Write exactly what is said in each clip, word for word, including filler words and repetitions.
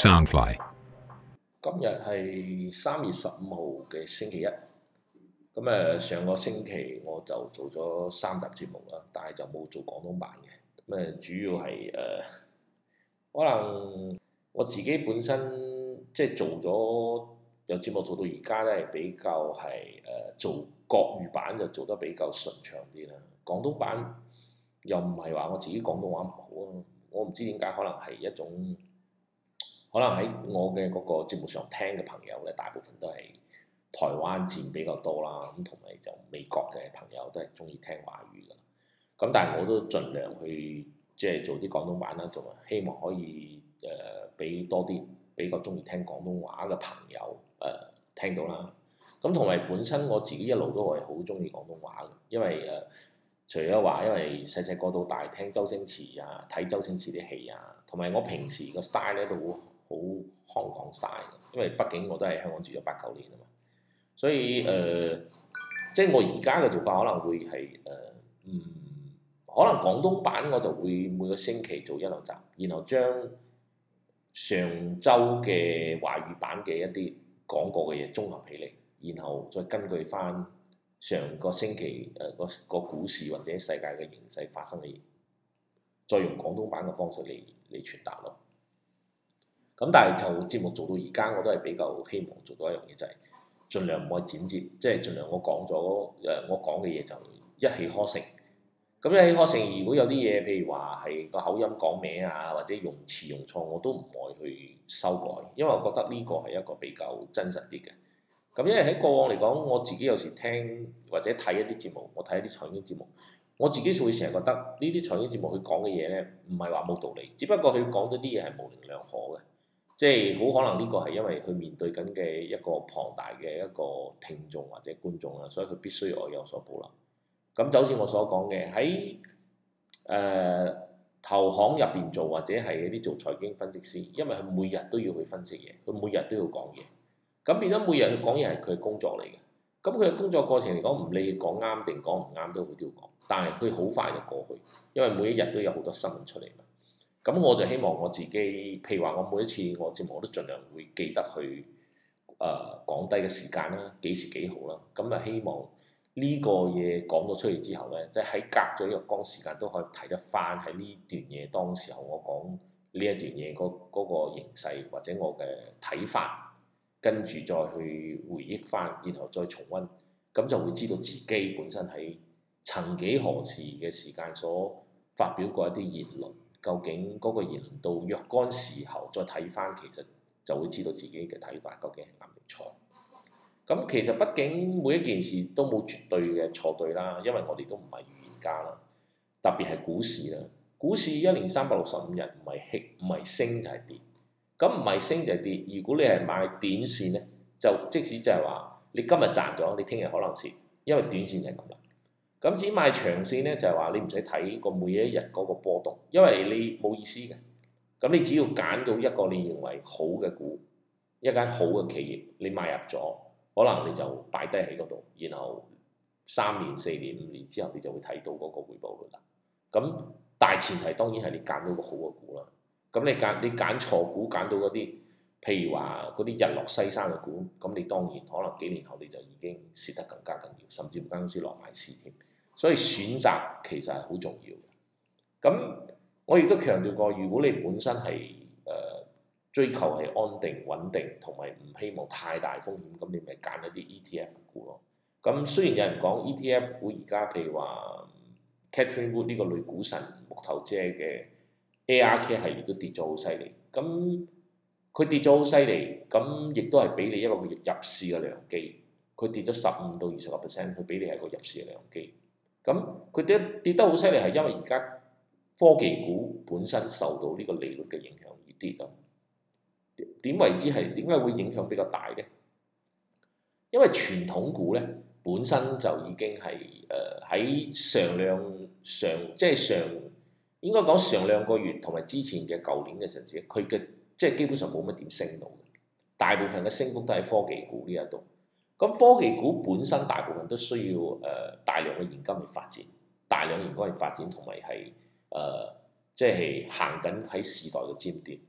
Soundfly。 今日係三月十五號嘅星期一，咁誒上個星期我就做咗三集節目啦，但係就冇做廣東版嘅。咁誒主要係誒、呃、可能我自己本身即係做咗有節目做到而家咧，比較係誒、呃、做國語版就做得比較順暢啲啦。廣東版又唔係話我自己廣東話唔好啊，我唔知點解，可能係一種。可能喺我嘅嗰個節目上聽嘅朋友咧，大部分都係台灣佔比較多啦，咁同埋就美國嘅朋友都係中意聽華語㗎。咁但係我都盡量去即係做啲廣東版啦，仲希望可以誒俾、呃、多啲比較中意聽廣東話嘅朋友誒、呃、聽到啦。咁同埋本身我自己一路都係好中意廣東話嘅，因為誒、呃、除咗話因為細細個到大聽周星馳啊，睇周星馳啲戲啊，同埋我平時個 style 咧都好。好香港 style 嘅，因為畢竟我都係香港住咗八九年啊嘛，所以誒、呃，即係我而家嘅做法可能會係誒，嗯，可能廣東版我就會每個星期做一兩集，然後將上週嘅華語版嘅一啲講過嘅嘢綜合起嚟，然後再根據翻上個星期誒、呃、個個股市或者世界嘅形勢發生嘅嘢，再用廣東版嘅方式嚟嚟傳達咯。咁但係就節目做到而家，我都係比較希望做到一樣嘢，就係、是、盡量唔可以剪接，即係盡量我講咗誒我講嘅嘢就一氣呵成。咁一氣呵成，如果有啲嘢，譬如話係個口音講歪啊，或者用詞用錯，我都唔會去修改，因為我覺得呢個係一個比較真實啲嘅。咁因為喺過往嚟講，我自己有時聽或者睇一啲節目，我睇一啲財經節目，我自己會成日覺得呢啲財經節目佢講嘅嘢咧，唔係話冇道理，只不過佢講咗啲嘢係模棱兩可嘅。即係好可能呢個係因為佢面對緊嘅一個龐大嘅一個聽眾或者觀眾啦，所以佢必須要有所保留。咁就好似我所講嘅，喺誒投行入邊做或者係一啲做財經分析師，因為佢每日都要去分析嘢，佢每日都要講嘢。咁變咗每日去講嘢係佢嘅工作嚟嘅。咁佢嘅工作過程嚟講，唔理講啱定講唔啱都佢都要講，但係佢好快就過去，因為每一日都有好多新聞出嚟嘛。咁我就希望我自己，譬如話我每一次我節目我都盡量會記得去誒、呃、講低嘅時間啦，幾時幾號啦。咁啊希望呢個嘢講咗出嚟之後咧，即係喺隔咗一個光時間都可以睇得翻喺呢段嘢當時候我講呢一段嘢嗰嗰個形勢或者我嘅睇法，跟住再去回憶翻，然後再重溫，咁就會知道自己本身喺曾幾何時嘅時間所發表過一啲言論。究竟嗰個言論到若干時候再睇翻，其實就會知道自己嘅睇法究竟係啱定錯。咁其實畢竟每一件事都冇絕對嘅錯對啦，因為我哋都唔係預言家啦。特別係股市啦，股市一年三百六十五日唔係起唔係升就係跌。咁唔係升就係跌。如果你係買短線咧，就即使就係話你今日賺咗，你聽日可能蝕，因為短線就係咁啦。咁至於買長線咧，就係話你唔使睇個每一日嗰個波動，因為你冇意思嘅。咁你只要揀到一個你認為好嘅股，一間好嘅企業，你買入咗，可能你就擺低喺嗰度，然後三年、四年、五年之後，你就會睇到嗰個回報率啦。咁大前提當然係你揀到個好嘅股啦。咁你揀你揀錯股，揀到嗰啲譬如話嗰啲日落西山嘅股，咁你當然可能幾年後你就已經蝕得更加緊要，甚至乎間公司落埋市添。所以選擇其實係好重要嘅。咁我亦都強調過，如果你本身係誒、呃、追求係安定穩定，同埋唔希望太大風險，咁你咪揀一啲 E T F 股咯。咁雖然有人講 E T F 股而家譬如話 Catherine Wood 呢個女股神木頭姐嘅 A R K 系列都跌咗好犀利。咁佢跌咗好犀利，咁亦都係俾你一個入市嘅良機。佢跌咗十五到二十個 percent，佢俾你係個入市嘅良機。咁佢跌跌得好犀利，係因為而家科技股本身受到呢個利率嘅影響而跌啊。點為之係點解會影響比較大嘅？因為傳統股咧本身就已經係誒喺上兩上即係上應該講上兩個月同埋之前嘅舊年嘅陣時，佢嘅即係基本上冇乜點升到嘅，大部分嘅升幅都喺科技股呢一度。咁科技股本身大部分都需要誒、呃、大量嘅現金去發展，大量現金去發展，同埋係誒即係行緊喺時代嘅尖端。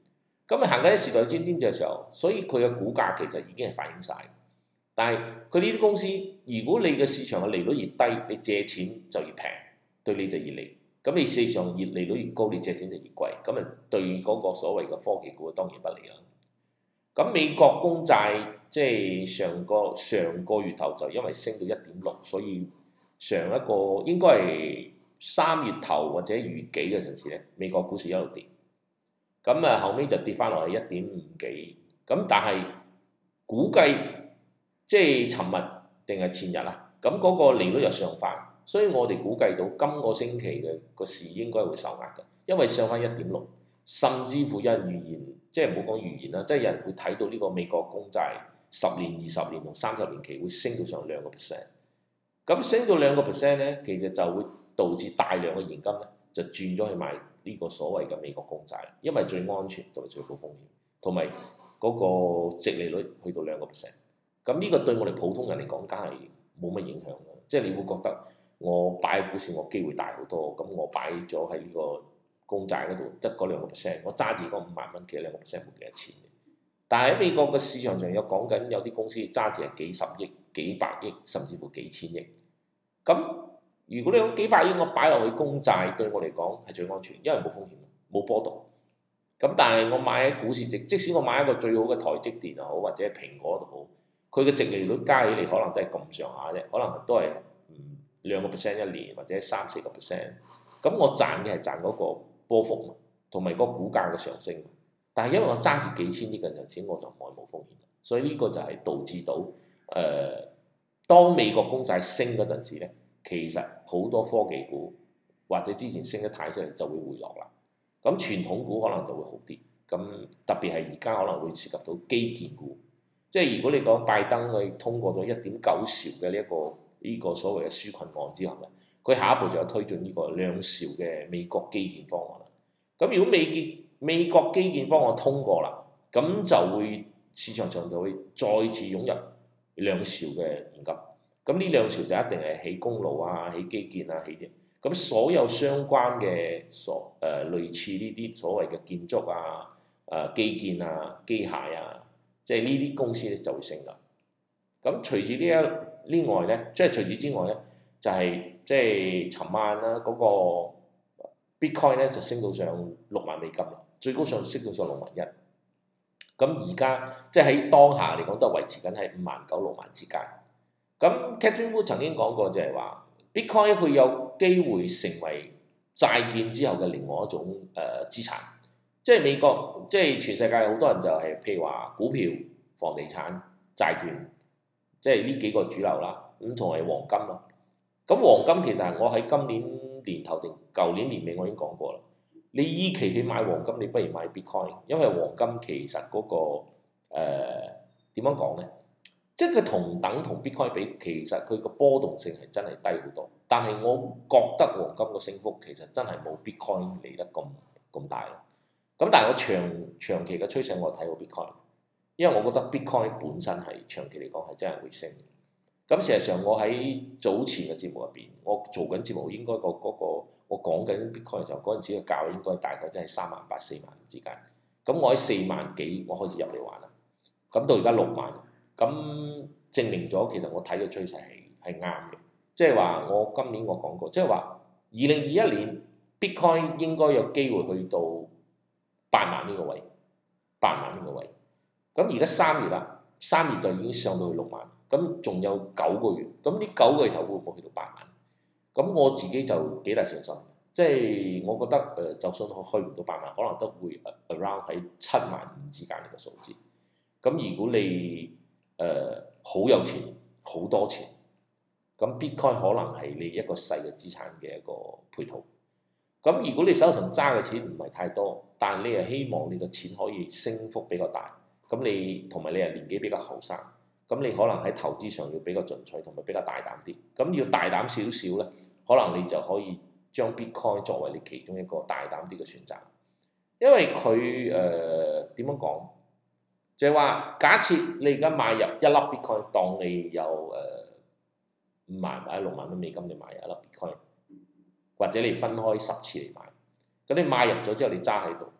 咁啊行緊啲時代尖端嘅時候，所以佢嘅股價其實已經係反映晒。但係佢呢啲公司，如果你嘅市場嘅利率越低，你借錢就越平，對你就越利。咁你市場越利率越高，你借錢就越貴。咁啊對嗰個所謂嘅科技股當然不利啦。咁美國公債即係上個上個月頭就因為升到一點六，所以上一個應該係三月頭或者月幾嘅陣時咧，美國股市一路跌。咁啊後尾就跌翻落去一點五幾，咁但係估計即係尋日定係前日啊，咁嗰個利率又上翻，所以我哋估計到今個星期嘅個市應該會受壓嘅，因為上翻一點六，甚至乎有人預言，即係唔好講預言啦，即係有人會睇到呢個美國公債十年、二十年同三十年期會升到上兩個 percent，咁升到兩個 percent 咧，其實就會導致大量嘅現金咧就轉咗去買呢個所謂嘅美國公債，因為最安全同埋最高風險，同埋嗰個殖利率去到兩個 percent。咁呢個對我哋普通人嚟講，梗係冇乜影響嘅。即係你會覺得我擺喺股市，我機會大好多。咁我擺咗喺呢個公債嗰度，即係嗰兩個 percent，我揸住嗰五萬蚊，其實兩個 percent 冇幾多錢。但係喺美國嘅市場上有講緊有啲公司揸住係幾十億、幾百億，甚至乎幾千億。咁如果你用幾百億我擺落去公債，對我嚟講係最安全，因為冇風險，冇波動。咁但係我買喺股市，即即使我買一個最好嘅台積電又好，或者係蘋果都好，佢嘅殖利率加起嚟可能都係咁上下啫，可能都係嗯兩個 percent 一年，或者三四個 percent。咁我賺嘅係賺嗰個波幅同埋嗰個股價嘅上升。但係因為我揸住幾千億嘅錢，我就唔可以冇風險。所以呢個就係導致到誒、呃，當美國公債升嗰陣時咧。其實好多科技股或者之前升得太犀利就會回落啦。咁傳統股可能就會好啲。咁特別係而家可能會涉及到基建股。即係如果你講拜登佢通過咗一點九兆嘅呢一個呢、這個所謂嘅紓困案之後咧，佢下一步就有推進呢個兩兆嘅美國基建方案啦。咁如果美建美國基建方案通過啦，咁就會市場上就會再次湧入兩兆嘅現金。咁呢兩兆就一定係起公路啊、起基建啊、起啲。咁所有相關嘅所誒、呃、類似呢啲所謂嘅建築啊、誒、呃、基建啊、機械啊，即係呢啲公司咧就會升啦。咁除住呢一呢外咧，即係除此之外咧，就係、是、即係尋晚啦嗰個 Bitcoin 咧就升到上六萬美金啦，最高上升到上六萬一。咁而家即係喺當下嚟講都係維持緊喺五萬九六萬之間。咁 Catherine Wu 曾經講過就係話 Bitcoin 佢有機會成為債券之後嘅另外一種誒、呃、資產，即係美國即係全世界好多人就係、是、譬如話股票、房地產、債券，即係呢幾個主流啦。咁同埋黃金咯。咁黃金其實我喺今年年頭定舊年年尾我已經講過啦。你依期去買黃金，你不如買 Bitcoin，因為黃金其實嗰、那個誒點樣講咧？即係佢同等同 Bitcoin 比，其實佢個波動性係真係低好多。但係我覺得黃金個升幅其實真係冇 Bitcoin 嚟得咁咁大咯。咁但係我長長期嘅趨勢我睇好 Bitcoin，因為我覺得 Bitcoin 本身係長期嚟講係真係會升。咁事實上我喺早前嘅節目入邊，我做緊節目應該、嗰個嗰、嗰個我講緊 Bitcoin 嘅時候，嗰陣時嘅價應該大概真係三萬八四萬之間。咁我喺四萬幾我開始入嚟玩啦。咁到而家六萬。咁證明咗其實我睇嘅趨勢係係啱嘅，即係話我今年我講過，即係話二零二一年 Bitcoin 應該有機會去到八萬呢個位，八萬呢個位。咁而家三月啦，三月就已經上到去六萬，咁仲有九個月，咁呢九個月頭會唔會去到八萬？咁我自己就幾大信心，即係我覺得誒、呃，就算我去唔到八萬，可能都會 around 喺七萬五之間呢個數字。咁如果你誒好、呃、有錢，好多錢，咁 Bitcoin 可能係你一個細嘅資產嘅一個配套。咁如果你手上揸嘅錢唔係太多，但係你係希望你嘅錢可以升幅比較大，咁你同埋你係年紀比較後生，咁你可能喺投資上要比較進取，同埋比較大膽啲。咁要大膽少少咧，可能你就可以將 Bitcoin 作為你其中一個大膽啲嘅選擇，因為佢誒點樣講？就係話，假設你而家買入一粒 Bitcoin，當你有誒五、呃、萬或者六萬蚊美金，你買入一粒 Bitcoin，或者你分開十次嚟買，咁你買入咗之後，你揸喺度，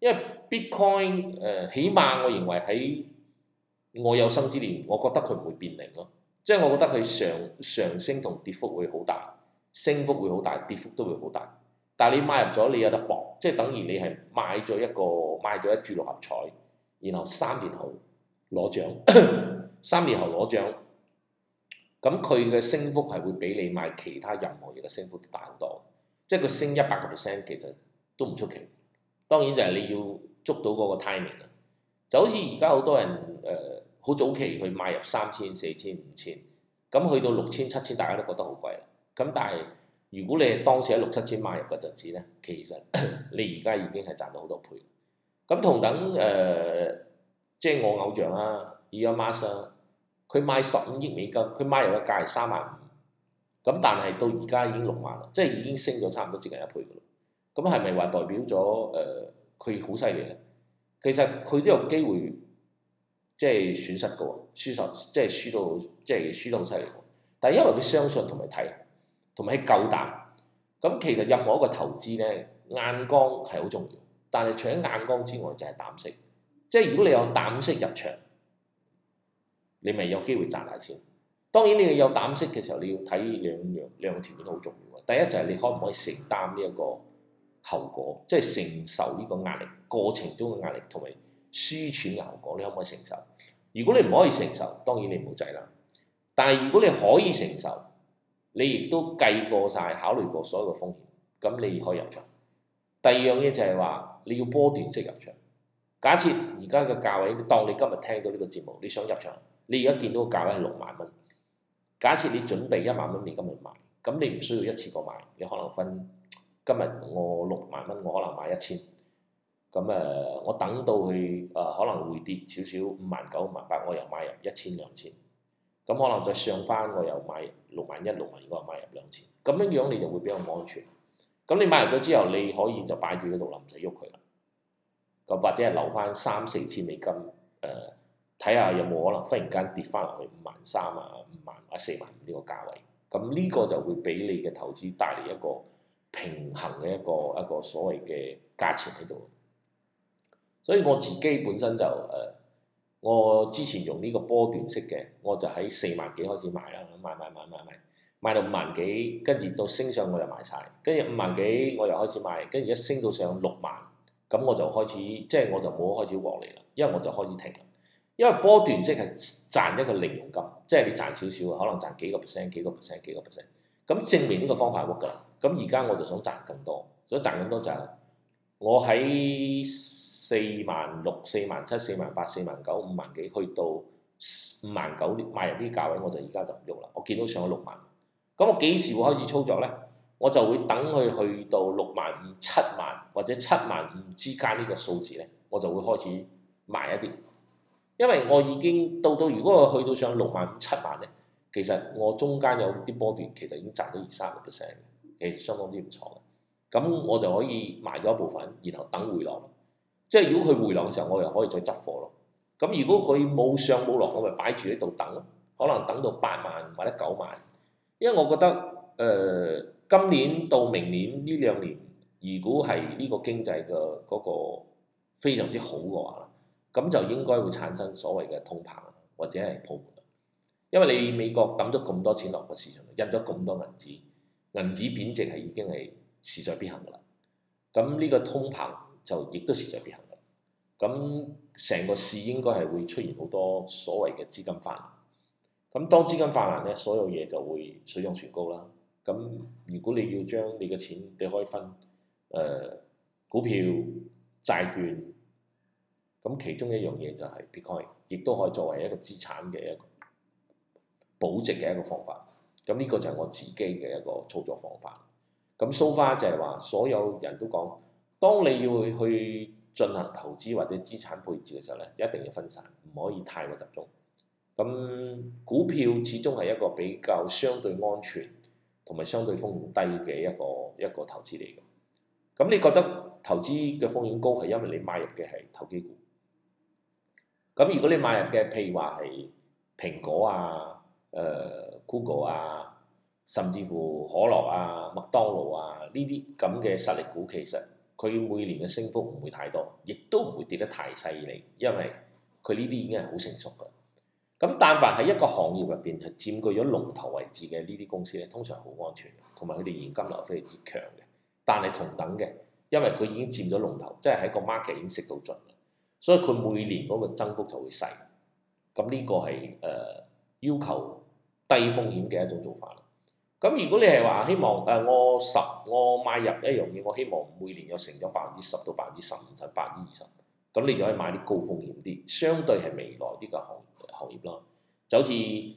因為 Bitcoin 誒、呃，起碼我認為喺我有生之年，我覺得佢唔會變零咯。即係我覺得佢上上升同跌幅會好大，升幅會好大，跌幅都會好大。但係你買入咗，你有得搏，即係等於你係買咗一個買咗一注六合彩，然後三年後攞獎，三年後攞獎，咁佢嘅升幅係會比你買其他任何嘢嘅升幅都大好多。即係佢升一百個 percent 其實都唔出奇。當然就係你要捉到嗰個 timing 啦。就好似而家好多人誒好、呃、早期去買入三千、四千、五千，咁去到六千、七千，大家都覺得好貴啦。咁但係如果你係當時喺六七千買入嗰陣時咧，其實你而家已經係賺到好多倍。咁同等誒、呃，即係我偶像啦 Elon Musk，佢買十五億美金，佢買入嘅價係三萬五，咁但係到而家已經六萬啦，即係已經升咗差唔多接近一倍噶啦。咁係咪話代表咗誒佢好犀利咧？其實佢都有機會即係損失嘅喎，輸實即係輸到即係輸得好犀利。但係因為佢相信同埋睇，同埋夠膽。咁其實任何一個投資咧，眼光係好重要。但係除咗眼光之外，就係膽識。即係如果你有膽識入場，你咪有機會賺大錢。當然你有膽識嘅時候，你要睇兩樣兩個條件都好重要。第一就係你可唔可以承擔呢一個後果，即係承受呢個壓力過程中嘅壓力同埋輸錢嘅後果，你可唔可以承受？如果你唔可以承受，當然你唔好制啦。但係如果你可以承受，你亦都計過晒、考慮過所有嘅風險，咁你可以入場。第二樣嘢就係話你要波段式入場。假設而家嘅價位，當你今日聽到呢個節目，你想入場，你而家見到個價位係六萬蚊。假設你準備一萬蚊，你今日買，咁你唔需要一次過買，你可能分今日我六萬蚊，我可能買一千。咁誒、呃，我等到佢誒、呃、可能會跌少少，五萬九、五萬八，我又買入一千、兩千。咁可能再上翻，我又買六萬一、六萬二，我又買入兩千。咁樣樣你就會比較安全。咁你買入咗之後，你可以就擺住喺度啦，唔使喐佢啦。咁或者係留翻三四千美金，誒睇下有冇可能忽然間跌翻落去五萬三啊、五萬或者四萬呢個價位。咁呢個就會俾你嘅投資帶嚟一個平衡嘅一個一個所謂嘅價錢喺度。所以我自己本身就誒、呃，我之前用呢個波段式嘅，我就喺四萬幾開始買啦，買買買買買，買到五萬幾，跟住到升上我又買晒，跟住五萬幾我又開始買，跟住一升到上六萬，咁我就開始即係我就冇開始獲利啦，因為我就開始停啦。因為波段式係賺一個零用金，即係你賺少少，可能賺幾個 percent、幾個 percent、幾個 percent，咁證明呢個方法 work 㗎啦。咁而家我就想賺更多，所以賺更多就係我喺四萬六、四萬七、四萬八、四萬九、五萬幾，去到五萬九買入啲價位，我就而家就唔喐啦。我見到上咗六萬，咁我幾時會開始操作咧？我就會等佢去到六萬五、七萬或者七萬五之間呢個數字咧，我就會開始賣一啲。因為我已經到到，如果我去到上六萬五、七萬咧，其實我中間有啲波段其實已經賺到二三個 percent，其實相當之唔錯嘅。咁我就可以賣咗一部分，然後等回落。即係如果佢回落嘅時候，我又可以再執貨咯。咁如果佢冇上冇落，我咪擺住喺度等咯。可能等到八萬或者九萬，因為我覺得誒、呃、今年到明年呢兩年，如果係呢個經濟嘅嗰個非常之好嘅話，咁就應該會產生所謂嘅通膨或者係泡沫。因為你美國抌咗咁多錢落個市場，印咗咁多銀紙，銀紙貶值係已經係勢在必行㗎啦。咁呢個通膨就亦都勢在必行嘅，咁成個市應該係會出現好多所謂嘅資金泛濫。咁當資金泛濫咧，所有嘢就會水漲船高啦。咁如果你要將你嘅錢，你可以分誒、呃、股票、債券，咁其中一樣嘢就係 Bitcoin，亦都可以作為一個資產嘅一個保值嘅一個方法。咁呢個就係我自己嘅一個操作方法。咁 so far 就係話，所有人都講，當你要去進行投資或者資產配置嘅時候咧，一定要分散，唔可以太過集中。咁股票始終係一個比較相對安全同埋相對風險低嘅一個一個投資嚟嘅。咁你覺得投資嘅風險高係因為你買入嘅係投機股？咁如果你買入嘅譬如話係蘋果啊、誒、呃、Google 啊，甚至乎可樂啊、麥當勞啊呢啲咁嘅實力股，其實佢每年嘅升幅唔會太多，亦都唔會跌得太犀利，因為佢呢啲已經係好成熟㗎。咁但凡喺一個行業入邊係佔據咗龍頭位置嘅呢啲公司咧，通常好安全，同埋佢哋現金流非常之強嘅。但係同等嘅，因為佢已經佔咗龍頭，即係喺個 market 已經食到盡啦，所以佢每年嗰個增幅就會細。咁呢個係誒、呃、要求低風險嘅一種做法啦。咁如果你係話希望誒、呃、我十我買入一樣嘢，我希望每年有成咗百分之十到百分之十五甚至百分之二十，咁你就可以買啲高風險啲，相對係未來啲嘅行行業啦。就好似誒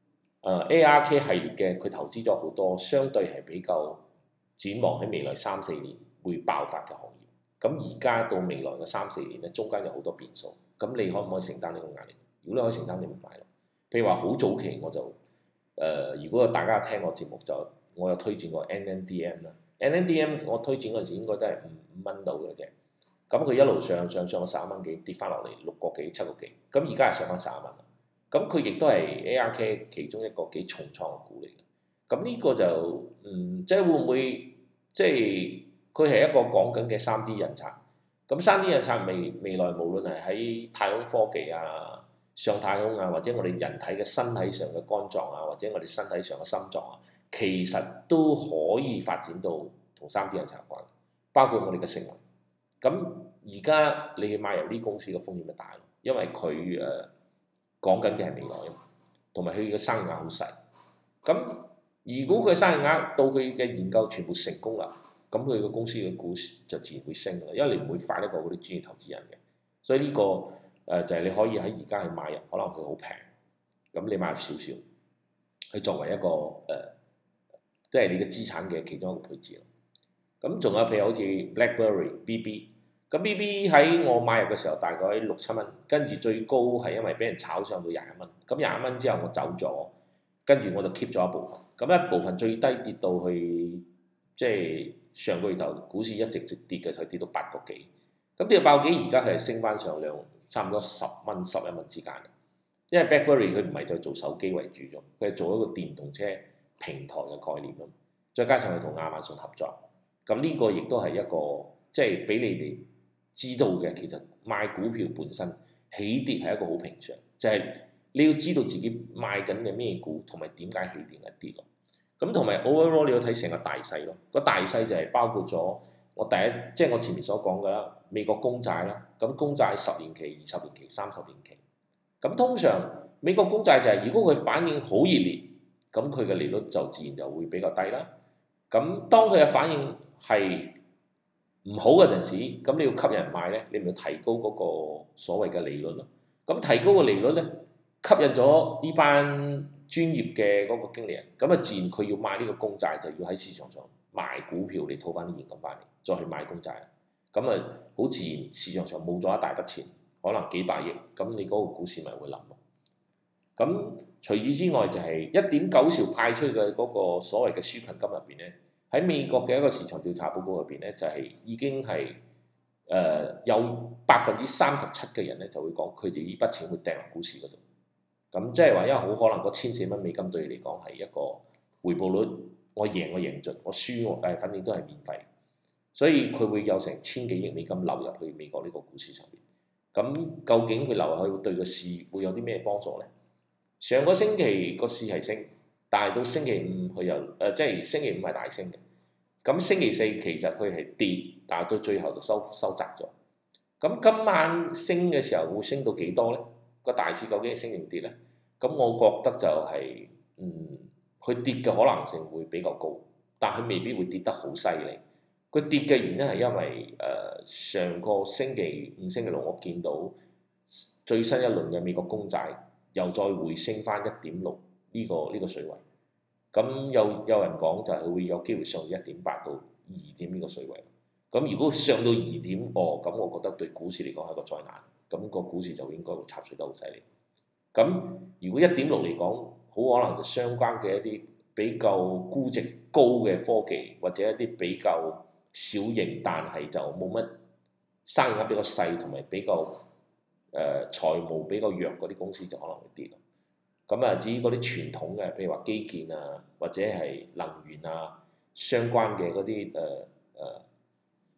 A R K 系列嘅，佢投資咗好多，相對係比較展望喺未來三四年會爆發嘅行業。咁而家到未來嘅三四年咧，中間有好多變數，咁你可唔可以承擔呢個壓力？如果你可以承擔，你咪買咯。譬如話好早期我就誒、呃，如果大家聽我節目就，我有推薦過 N N D M 啦。N N D M 我推薦嗰陣時應該都係五五蚊到嘅啫。咁佢一路上上上到十一蚊幾，跌翻落嚟六個幾七個幾。咁而家係上翻十一蚊啦。咁佢亦都係 A R K 其中一個幾重創嘅股嚟嘅。咁呢個就嗯，即係會唔會即係佢係一個講緊嘅三 D 印刷。咁三 D 印刷未未來無論係喺太空科技啊、上太空啊，或者我哋人體嘅身體上嘅肝臟啊，或者我哋身體上嘅心臟啊，其實都可以發展到同三 D 印刷有關，包括我哋嘅食物。咁而家你去買入呢公司嘅風險咪大咯，因為佢誒、呃、講緊嘅係未來，同埋佢嘅生意額好細。咁如果佢生意額到佢嘅研究全部成功啦，咁佢個公司嘅股市就自然會升㗎啦，因為你唔會快得過嗰啲專業投資人嘅。所以呢、這個誒、呃、就係、是、你可以喺而家去買入，可能佢好平，咁你買入少少，去作為一個誒，即、呃、係、就是、你嘅資產嘅其中一個配置咯。咁仲有譬如好似 BlackBerry B B。咁 B B 喺我買入嘅時候大概六七蚊，跟住最高係因為俾人炒上到廿一蚊，咁廿一蚊之後我走咗，跟住我就 keep 咗一部分，咁一部分最低跌到去即係上個月頭股市一直直跌嘅時候跌到八個幾，咁跌到八個幾而家係升翻上兩差唔多十蚊十一蚊之間，因為 BlackBerry 佢唔係就做手機為主咗，佢係做一個電動車平台嘅概念啊，再加上佢同亞馬遜合作，咁呢個亦都係一個即係俾你哋知道嘅，其實買股票本身起跌係一個好平常，就係、是、你要知道自己買緊嘅咩股，同埋點解起跌一跌咯。咁同埋 overall 你要睇成個大勢咯。個大勢就係包括咗我第一，即、就、係、是、我前面所講嘅啦，美國公債啦。咁公債十年期、二十年期、三十年期。咁通常美國公債就係、是、如果佢反應好熱烈，咁佢嘅利率就自然就會比較低啦。咁當佢嘅反應係唔好嘅陣時，咁你要吸引人買咧，你咪要提高嗰個所謂嘅利率咯。咁提高個利率咧，吸引咗呢班專業嘅嗰個經理人，咁啊自然佢要買呢個公債，就要喺市場上賣股票嚟套翻啲現金翻嚟，再去買公債。咁啊好自然，市場上冇咗一大筆錢，可能幾百億，咁你嗰個股市咪會冧咯。咁除此之外就係一點九兆派出嘅嗰個所謂嘅紓困金入邊咧。喺美國嘅一個市場調查報告入邊咧，就係、是、已經係誒、呃、有百分之三十七嘅人咧就會講佢哋呢筆錢會掟落股市嗰度。咁即係話，因為好可能嗰千四蚊美金對你嚟講係一個回報率，我贏我贏盡，我輸我誒反正都係免費。所以佢會有成千幾億美金流入去美國呢個股市上邊。咁究竟佢流入去對個市會有啲咩幫助咧？上個星期個市係升。但係到星期五佢又誒、呃，即係星期五係大升嘅。咁星期四其實佢係跌，但係到最後就收收窄咗。咁今晚升嘅時候會升到幾多咧？個大市究竟係升定跌咧？咁我覺得就係、是、嗯，佢跌嘅可能性會比較高，但係未必會跌得好犀利。佢跌嘅原因係因為誒、呃、上個星期五、星期六我見到最新一輪嘅美國公債又再回升翻一點六。呢、這個呢、這個水位，咁有有人講就係會有機會上到一點八到二點呢個水位。咁如果上到二點，哦，咁我覺得對股市嚟講係一個災難。咁、那個股市就應該會插水得好犀利。咁如果一點六嚟講，好可能就相關嘅一啲比較估值高嘅科技，或者一啲比較小型但係就冇乜生意額比較細同埋比較誒、呃、財務比較弱嗰啲公司就可能會跌咯。咁啊，至於嗰啲傳統嘅，譬如話基建啊，或者係能源啊，相關嘅嗰啲誒誒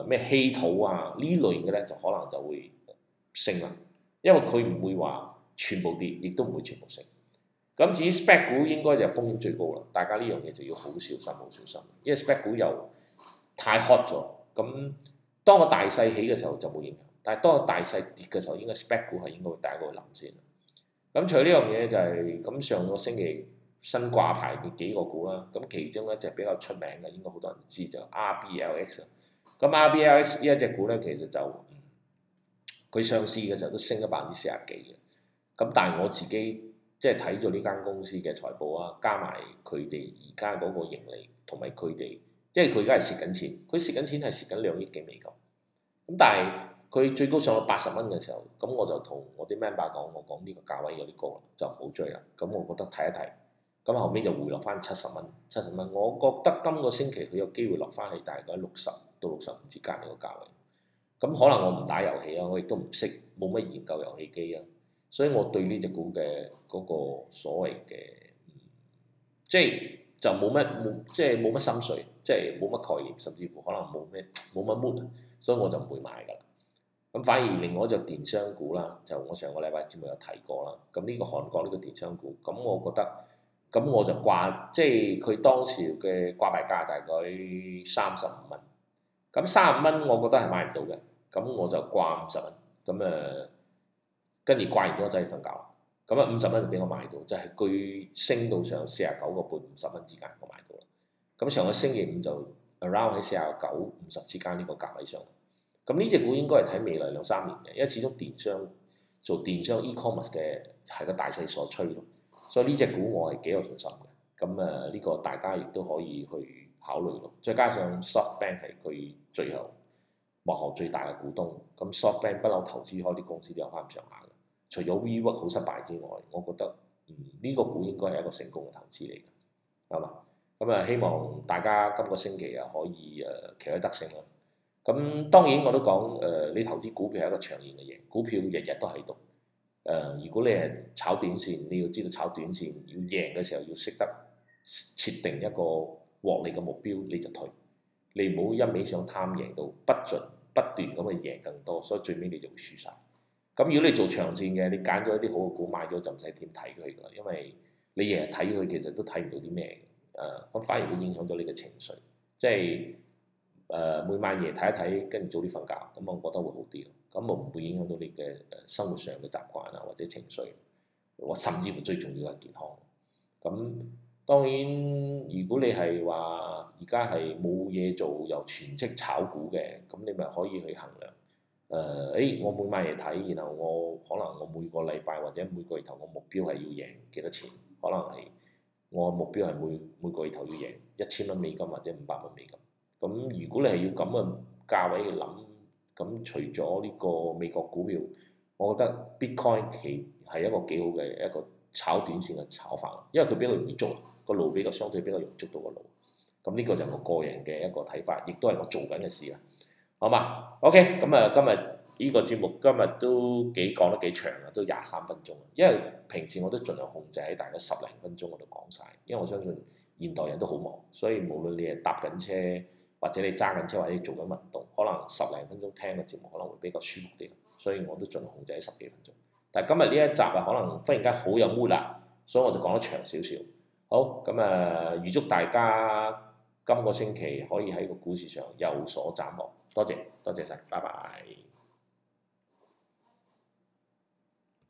誒咩稀土啊呢類嘅咧，就可能就會升啦，因為佢唔會話全部跌，亦都唔會全部升。咁至於 spec 股應該就風險最高啦，大家呢樣嘢就要好小心，好小心，因為 spec 股又太 hot 咗。咁當個大勢起嘅時候就冇影響，但係當個大勢跌嘅時候，應該 spec 股係應該會第一個去諗先。咁除咗呢樣嘢就係、是、咁上個星期新掛牌嘅幾個股啦，咁其中一隻比較出名嘅，應該好多人知就 R B L X 啊。咁 R B L X 呢一隻股咧，其實就佢、嗯、上市嘅時候都升咗百分之四十幾嘅。咁但係我自己即係睇咗呢間公司嘅財報啊，加埋佢哋而家嗰個盈利同埋佢哋，即係佢而家係蝕緊錢，佢蝕緊錢係蝕緊兩億幾美金。咁但係佢最高上到八十蚊嘅時候，咁我就同我啲 member 講，我講呢個價位有啲高啦，就唔好追啦。咁我覺得睇一睇，咁後尾就回落翻七十蚊，七十蚊。我覺得今個星期佢有機會落翻去大概六十到六十五之間呢個價位。咁可能我唔打遊戲啊，我亦都唔識，冇乜研究遊戲機啊，所以我對呢隻股嘅嗰個所謂嘅、嗯，即係就冇乜冇，即係冇乜心水，即係冇乜概念，甚至乎可能冇咩冇乜 mood，所以我就唔會買㗎啦。咁反而另外一隻電商股啦，就我上個禮拜節目有提過啦。咁呢個韓國呢個電商股，咁我覺得，咁我就掛，即係佢當時嘅掛牌價大概三十五蚊。咁三十五蚊，我覺得係買唔到嘅。咁我就掛五十蚊。咁誒，跟住掛完咗就係瞓覺。咁啊五十蚊就俾我買到，就係、是、佢升到上四十九個半五十蚊之間，我買到啦。咁上個星期五就 around 喺四十九五十之間呢個價位上。咁呢隻股應該係睇未來兩三年嘅，因為始終電商做電商 e-commerce 嘅係個大勢所趨咯，所以呢隻股我係幾有信心嘅。咁誒呢個大家亦都可以去考慮咯。再加上 SoftBank 係佢最後幕後最大嘅股東，咁 SoftBank 不嬲投資開啲公司都有翻咁上下嘅。除咗 WeWork 好失敗之外，我覺得嗯呢、這個股應該係一個成功嘅投資嚟嘅，係嘛？咁啊希望大家今個星期啊可以誒旗開得勝啦。咁當然我都講誒、呃，你投資股票係一個長遠嘅嘢，股票日日都喺度。誒、呃，如果你係炒短線，你要知道炒短線要贏嘅時候要識得設定一個獲利嘅目標，你就退。你唔好一味想貪贏到不盡不斷咁去贏更多，所以最尾你就會輸晒。咁如果你做長線嘅，你揀咗一啲好嘅股買咗就唔使點睇佢㗎啦，因為你日日睇佢其實都睇唔到啲咩嘅。誒、呃，咁反而會影響到你嘅情緒，即係。誒、呃、每晚夜睇一睇，跟住早啲瞓覺，咁我覺得會好啲咯。咁我唔會影響到你嘅誒生活上嘅習慣啊，或者情緒，或甚至乎最重要係健康。咁當然，如果你係話而家係冇嘢做又全職炒股嘅，咁你咪可以去衡量。誒、呃，誒我每晚夜睇，然後我可能我每個禮拜或者每個月頭，我目標係要贏幾多錢？可能係我目標係每每個月頭要贏一千蚊美金或者五百蚊美金。咁如果你係要咁嘅價位去諗，咁除咗呢個美國股票，我覺得 Bitcoin 其係一個幾好嘅一個炒短線嘅炒法，因為佢比較容易捉，個路比較相對比較容易捉到個路。咁呢個就係我個人嘅一個睇法，亦都係我做緊嘅事啦。好嘛 ？OK，咁啊，今日呢個節目今日都幾講得幾長啊，都廿三分鐘。因為平時我都盡量控制喺大概十零分鐘嗰度講晒，因為我相信現代人都好忙，所以無論你係搭緊車，或者你揸緊車，或者你做緊運動，可能十零分鐘聽嘅節目可能會比較舒服啲，所以我都盡量控制喺十幾分鐘。但係今日呢一集啊，可能忽然間好有 mood 啦，所以我就講得長少少。好，咁啊，預祝大家今個星期可以喺個股市上有所斬獲。多謝，多謝晒，拜拜。